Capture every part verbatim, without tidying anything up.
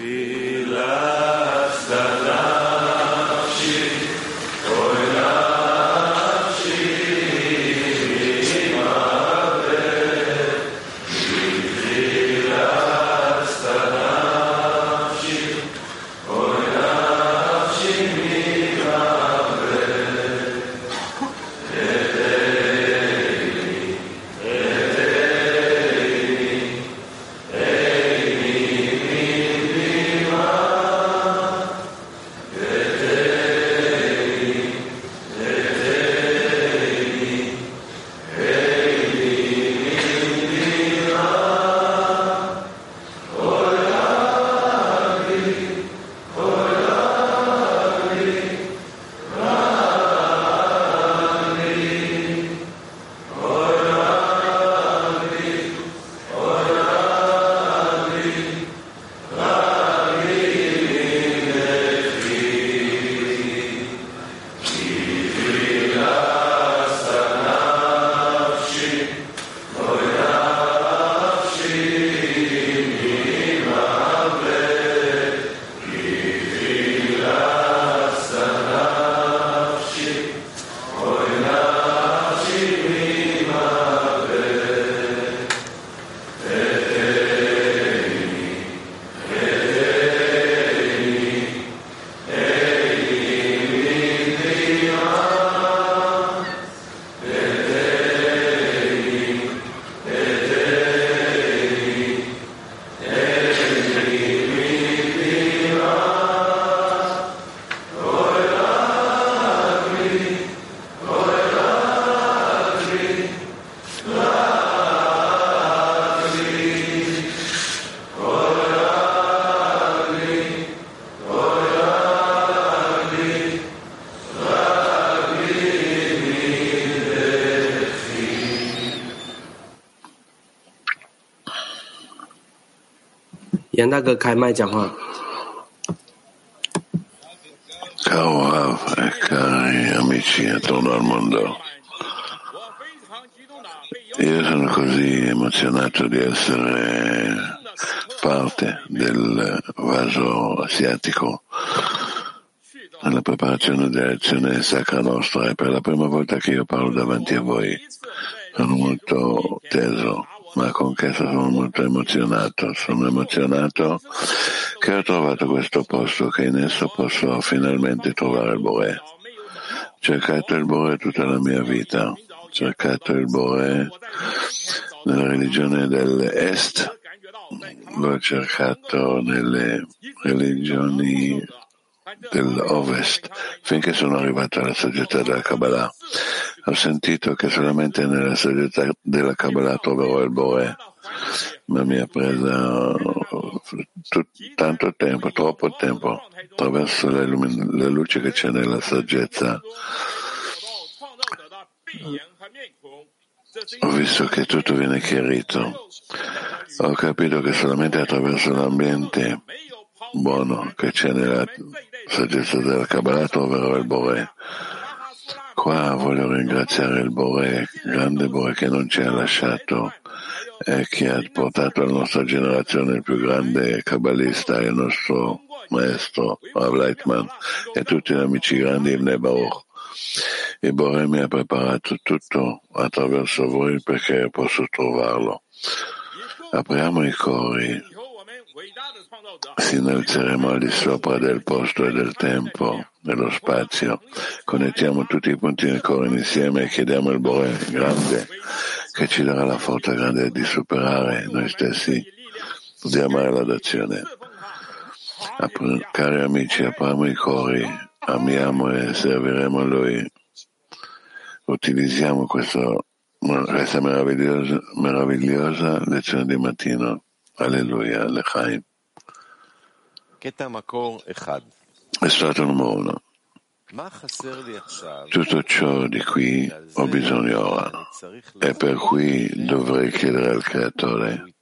杨大哥开麦讲话。 Caro Rav e cari amici attorno al mondo, io sono così emozionato di essere parte del vaso asiatico nella preparazione della lezione Sacra Nostra e per la prima volta che io parlo davanti a voi sono molto teso, ma con che sono molto emozionato. Sono emozionato che ho trovato questo posto, che in esso posso finalmente trovare il Boré. Ho cercato il Boré tutta la mia vita, ho cercato il Boré nella religione dell'Est, l'ho cercato nelle religioni dell'Ovest, finché sono arrivato alla saggezza della Kabbalah. Ho sentito che solamente nella saggezza della Kabbalah troverò il Boré, ma mi ha preso t- tanto tempo, troppo tempo, attraverso le, lumin- le luci che c'è nella saggezza. Ho visto che tutto viene chiarito. Ho capito che solamente attraverso l'ambiente buono che c'è nella saggezza della Kabbalah troverò il Boré. Qua voglio ringraziare il Boré, grande Boré che non ci ha lasciato e che ha portato alla nostra generazione il più grande kabbalista, il nostro maestro Rav Leitman e tutti gli amici grandi in Baruch. Il Boré mi ha preparato tutto attraverso voi perché posso trovarlo. Apriamo i cori, si innalzeremo al di sopra del posto e del tempo, dello spazio. Connettiamo tutti i punti del coro insieme e chiediamo al Boré grande che ci darà la forza grande di superare noi stessi, di amare l'adozione. Apri, cari amici, apriamo i cori, amiamo e serviremo a Lui. Utilizziamo questo, questa meravigliosa, meravigliosa lezione di mattino. Alleluia, Lechaim. È stato numero uno. Tutto ciò di cui ho bisogno ora e per cui dovrei chiedere al Creatore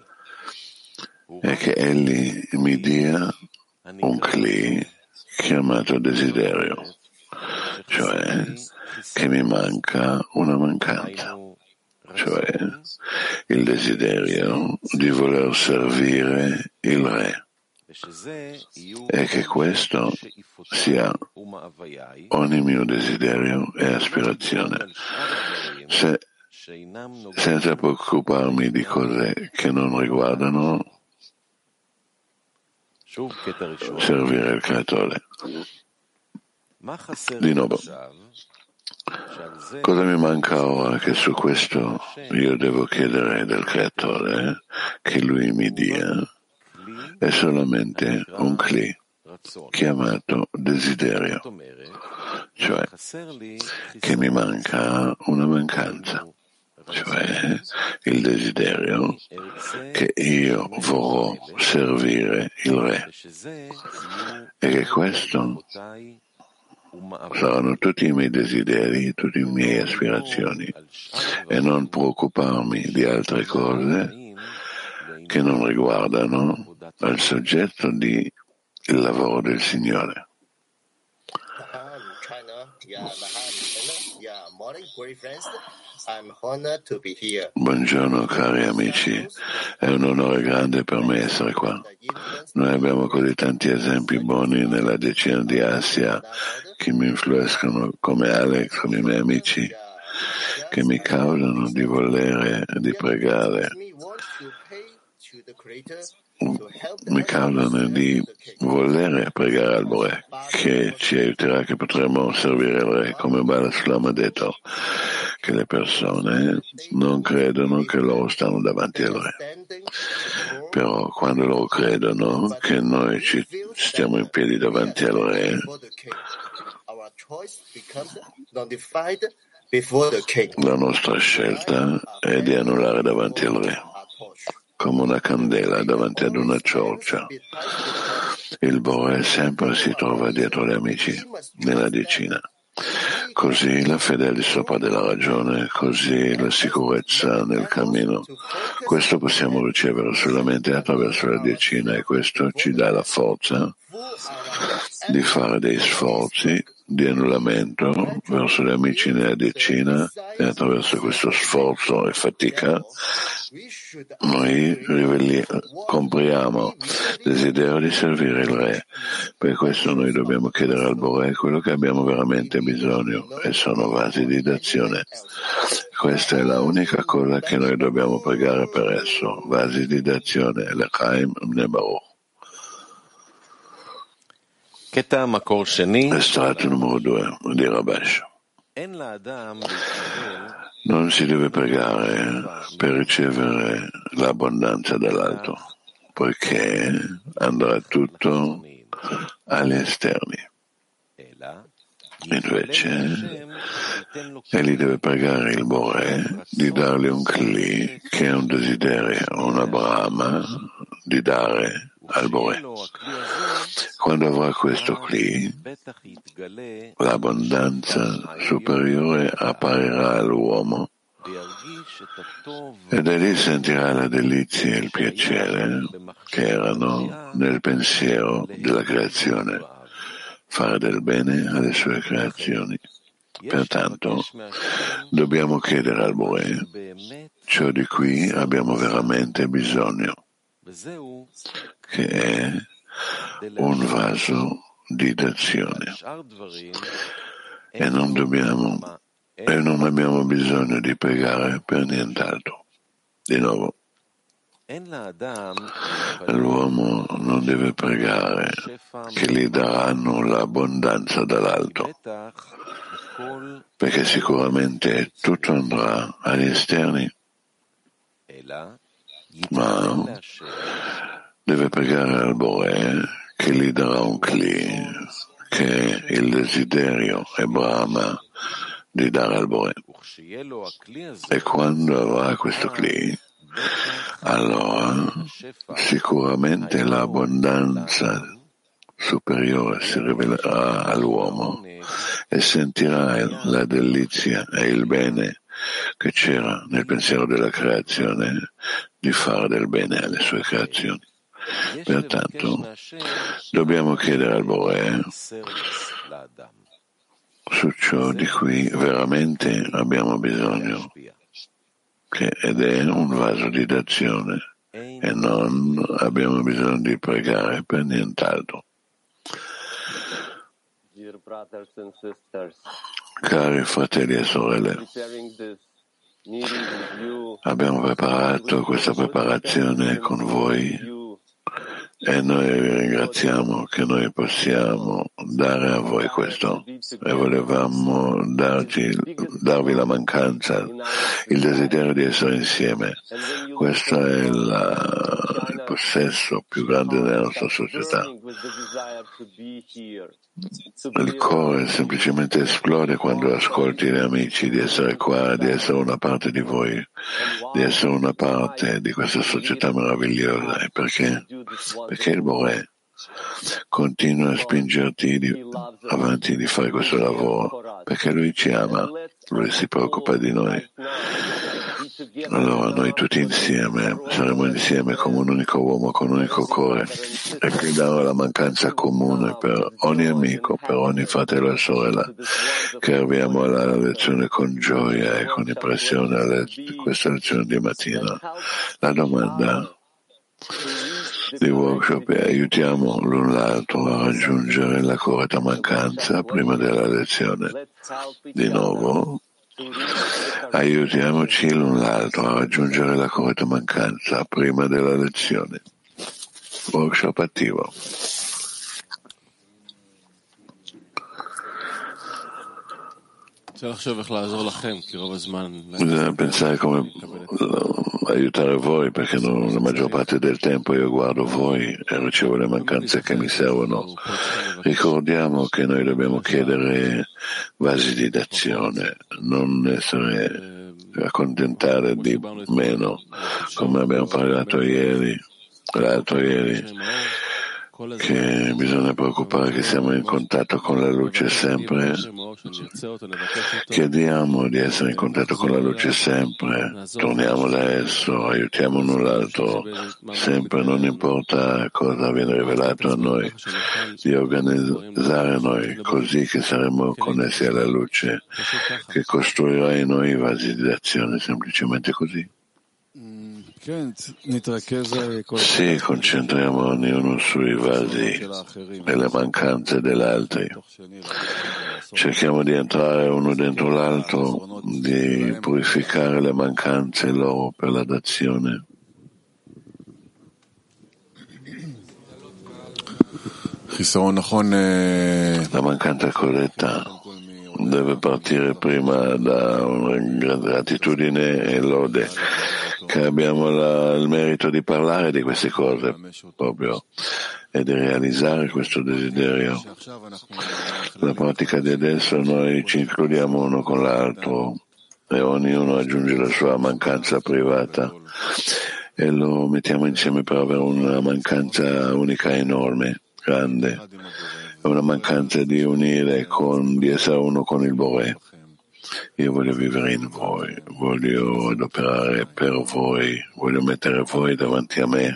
è che Egli mi dia un cli chiamato desiderio, cioè che mi manca una mancanza, cioè il desiderio di voler servire il Re e che questo sia ogni mio desiderio e aspirazione, Se, senza preoccuparmi di cose che non riguardano servire il Creatore. Di nuovo, cosa mi manca ora che su questo io devo chiedere del Creatore che Lui mi dia? È solamente un cli chiamato desiderio, cioè che mi manca una mancanza, cioè il desiderio che io vorrò servire il Re e che questo saranno tutti i miei desideri, tutte le mie aspirazioni e non preoccuparmi di altre cose che non riguardano al soggetto di il lavoro del Signore. Buongiorno cari amici, è un onore grande per me essere qua. Noi abbiamo così tanti esempi buoni nella decina di Asia che mi influiscono come Alex, come i miei amici, che mi causano di volere, di pregare, mi causano di volere pregare al Re, che ci aiuterà, che potremo servire il Re, come Bala Sulam ha detto, che le persone non credono che loro stanno davanti al Re. Però quando loro credono che noi ci stiamo in piedi davanti al Re, la nostra scelta è di annullare davanti al Re, come una candela davanti ad una ciorcia. Il Bore sempre si trova dietro gli amici, nella decina. Così la fede al di sopra della ragione, così la sicurezza nel cammino. Questo possiamo ricevere solamente attraverso la decina e questo ci dà la forza di fare dei sforzi di annullamento verso gli amici nella decina e attraverso questo sforzo e fatica noi riveli, compriamo desiderio di servire il Re. Per questo noi dobbiamo chiedere al Bore quello che abbiamo veramente bisogno e sono vasi di d'azione. Questa è la unica cosa che noi dobbiamo pregare per esso, vasi di d'azione, l'Echaim Bnei Baruch. Estratto numero due di Rabash. Non si deve pregare per ricevere l'abbondanza dall'alto, poiché andrà tutto agli esterni. Invece, egli deve pregare il Bore di dargli un Kli, che è un desiderio, una brama, di dare al Bore. Quando avrà questo Kli, l'abbondanza superiore apparirà all'uomo ed egli sentirà la delizia e il piacere che erano nel pensiero della creazione, fare del bene alle sue creazioni. Pertanto dobbiamo chiedere al Bore ciò di cui abbiamo veramente bisogno, che è un vaso di d'azione, e non dobbiamo e non abbiamo bisogno di pregare per nient'altro. Di nuovo, l'uomo non deve pregare che gli daranno l'abbondanza dall'alto, perché sicuramente tutto andrà agli esterni, ma deve pregare al Bore che gli darà un Kli, che è il desiderio e Brahma di dare al Bore. E quando avrà questo Kli, allora sicuramente l'abbondanza superiore si rivelerà all'uomo e sentirà la delizia e il bene che c'era nel pensiero della creazione di fare del bene alle sue creazioni. Pertanto dobbiamo chiedere al Bore su ciò di cui veramente abbiamo bisogno, che ed è un vaso di d'azione, e non abbiamo bisogno di pregare per nient'altro. Cari fratelli e sorelle, abbiamo preparato questa preparazione con voi e noi vi ringraziamo che noi possiamo dare a voi questo e volevamo darci, darvi la mancanza, il desiderio di essere insieme. Questo è la, il possesso più grande della nostra società. Il cuore semplicemente esplode quando ascolti gli amici di essere qua, di essere una parte di voi, di essere una parte di questa società meravigliosa. E perché? Perché il Boré continua a spingerti di, avanti di fare questo lavoro, perché lui ci ama, lui si preoccupa di noi. Allora noi tutti insieme saremo insieme come un unico uomo, con un unico cuore, e chiediamo la mancanza comune per ogni amico, per ogni fratello e sorella, che arriviamo alla lezione con gioia e con impressione a questa lezione di mattina. La domanda di workshop è: aiutiamo l'un l'altro a raggiungere la corretta mancanza prima della lezione. Di nuovo, aiutiamoci l'un l'altro a raggiungere la corretta mancanza prima della lezione. Workshop attivo. Bisogna pensare come aiutare voi, perché non, la maggior parte del tempo io guardo voi e ricevo le mancanze che mi servono. Ricordiamo che noi dobbiamo chiedere vasi di d'azione, non essere accontentare di meno, come abbiamo parlato ieri, l'altro ieri, che bisogna preoccupare che siamo in contatto con la luce sempre. Chiediamo di essere in contatto con la luce sempre, torniamo da esso, aiutiamo l'un l'altro sempre, non importa cosa viene rivelato a noi, di organizzare noi così che saremo connessi alla luce, che costruirà in noi i vasi di azione, semplicemente così. Sì, concentriamo ognuno sui vasi e le mancanze degli altri. Cerchiamo di entrare uno dentro l'altro, di purificare le mancanze loro per la dazione. La mancanza corretta deve partire prima da una gratitudine e lode, che abbiamo la, il merito di parlare di queste cose proprio e di realizzare questo desiderio. La pratica di adesso noi ci includiamo uno con l'altro e ognuno aggiunge la sua mancanza privata e lo mettiamo insieme per avere una mancanza unica enorme, grande, una mancanza di unire, con, di essere uno con il Boré. Io voglio vivere in voi, voglio adoperare per voi, voglio mettere voi davanti a me.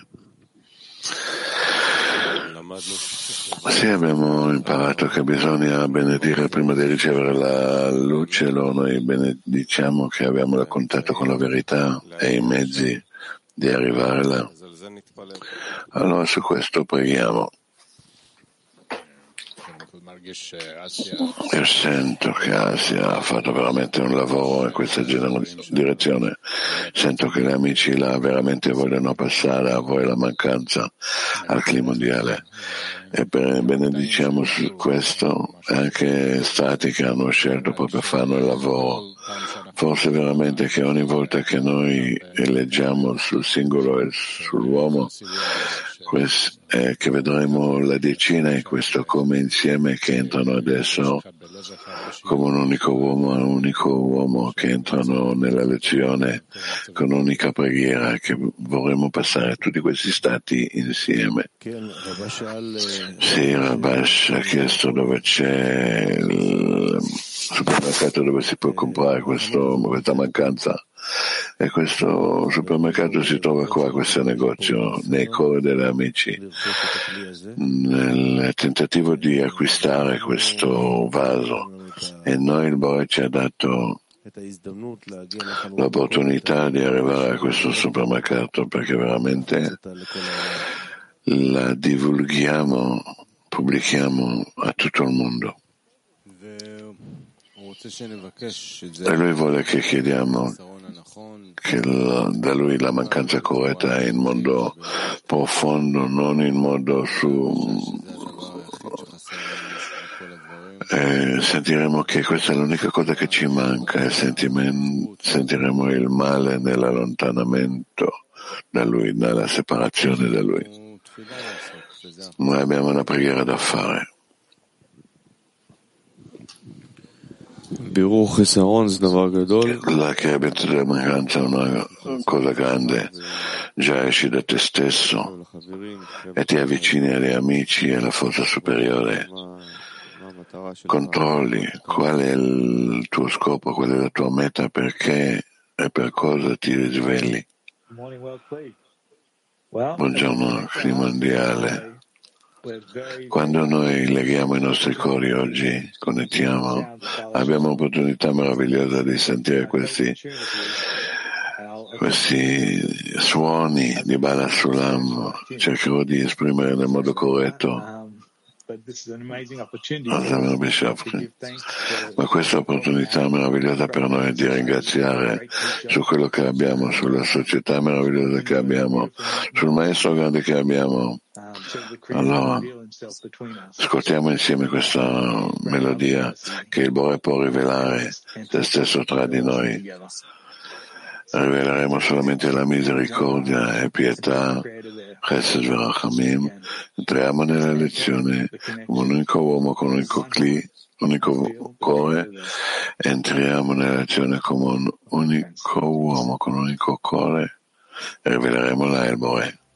Sì, abbiamo imparato che bisogna benedire prima di ricevere la luce, allora noi benediciamo che abbiamo il contatto con la verità e i mezzi di arrivare là. Allora su questo preghiamo. Io sento che Asia ha fatto veramente un lavoro in questa direzione. Sento che gli amici là veramente vogliono passare a voi la mancanza al clima mondiale. E benediciamo su questo anche stati che hanno scelto proprio fanno il lavoro. Forse veramente che ogni volta che noi eleggiamo sul singolo e sull'uomo, eh, che vedremo la decina e questo come insieme che entrano adesso come un unico uomo, un unico uomo che entrano nella lezione con un'unica preghiera, che vorremmo passare tutti questi stati insieme. Sì, Rabash ha chiesto dove c'è il supermercato dove si può comprare questo, questa mancanza. E questo supermercato si trova qua, questo negozio, nei cuori degli amici, nel tentativo di acquistare questo vaso. E noi il Boré ci ha dato l'opportunità di arrivare a questo supermercato, perché veramente la divulghiamo, pubblichiamo a tutto il mondo. E lui vuole che chiediamo che la, da lui la mancanza corretta è in modo profondo, non in modo su... E sentiremo che questa è l'unica cosa che ci manca e sentiremo il male nell'allontanamento da lui, nella separazione da lui. Noi abbiamo una preghiera da fare. La creatura della mancanza è una cosa grande. Già esci da te stesso e ti avvicini agli amici e alla forza superiore. Controlli qual è il tuo scopo, qual è la tua meta, perché e per cosa ti risvegli. Buongiorno, clima mondiale. Quando noi leghiamo i nostri cuori oggi, connettiamo, abbiamo un'opportunità meravigliosa di sentire questi, questi suoni di Bala Sulam. Cercherò di esprimere nel modo corretto. Ma questa opportunità meravigliosa per noi di ringraziare su quello che abbiamo, sulla società meravigliosa che abbiamo, sul maestro grande che abbiamo. Allora, ascoltiamo insieme questa melodia che il Bore può rivelare se stesso tra di noi. Riveleremo solamente la misericordia e pietà, Chesed Verachamim. Entriamo nella lezione come un unico uomo con un unico cli, unico cuore. Entriamo nella lezione come un unico uomo con un unico cuore e riveleremo la El Bore.